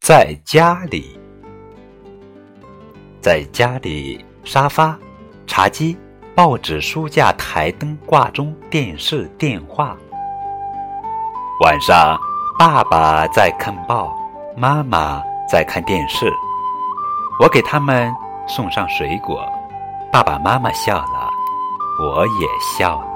在家里，在家里，沙发、茶几、报纸、书架、台灯、挂钟、电视、电话。晚上，爸爸在看报，妈妈在看电视。我给他们送上水果，爸爸妈妈笑了，我也笑了。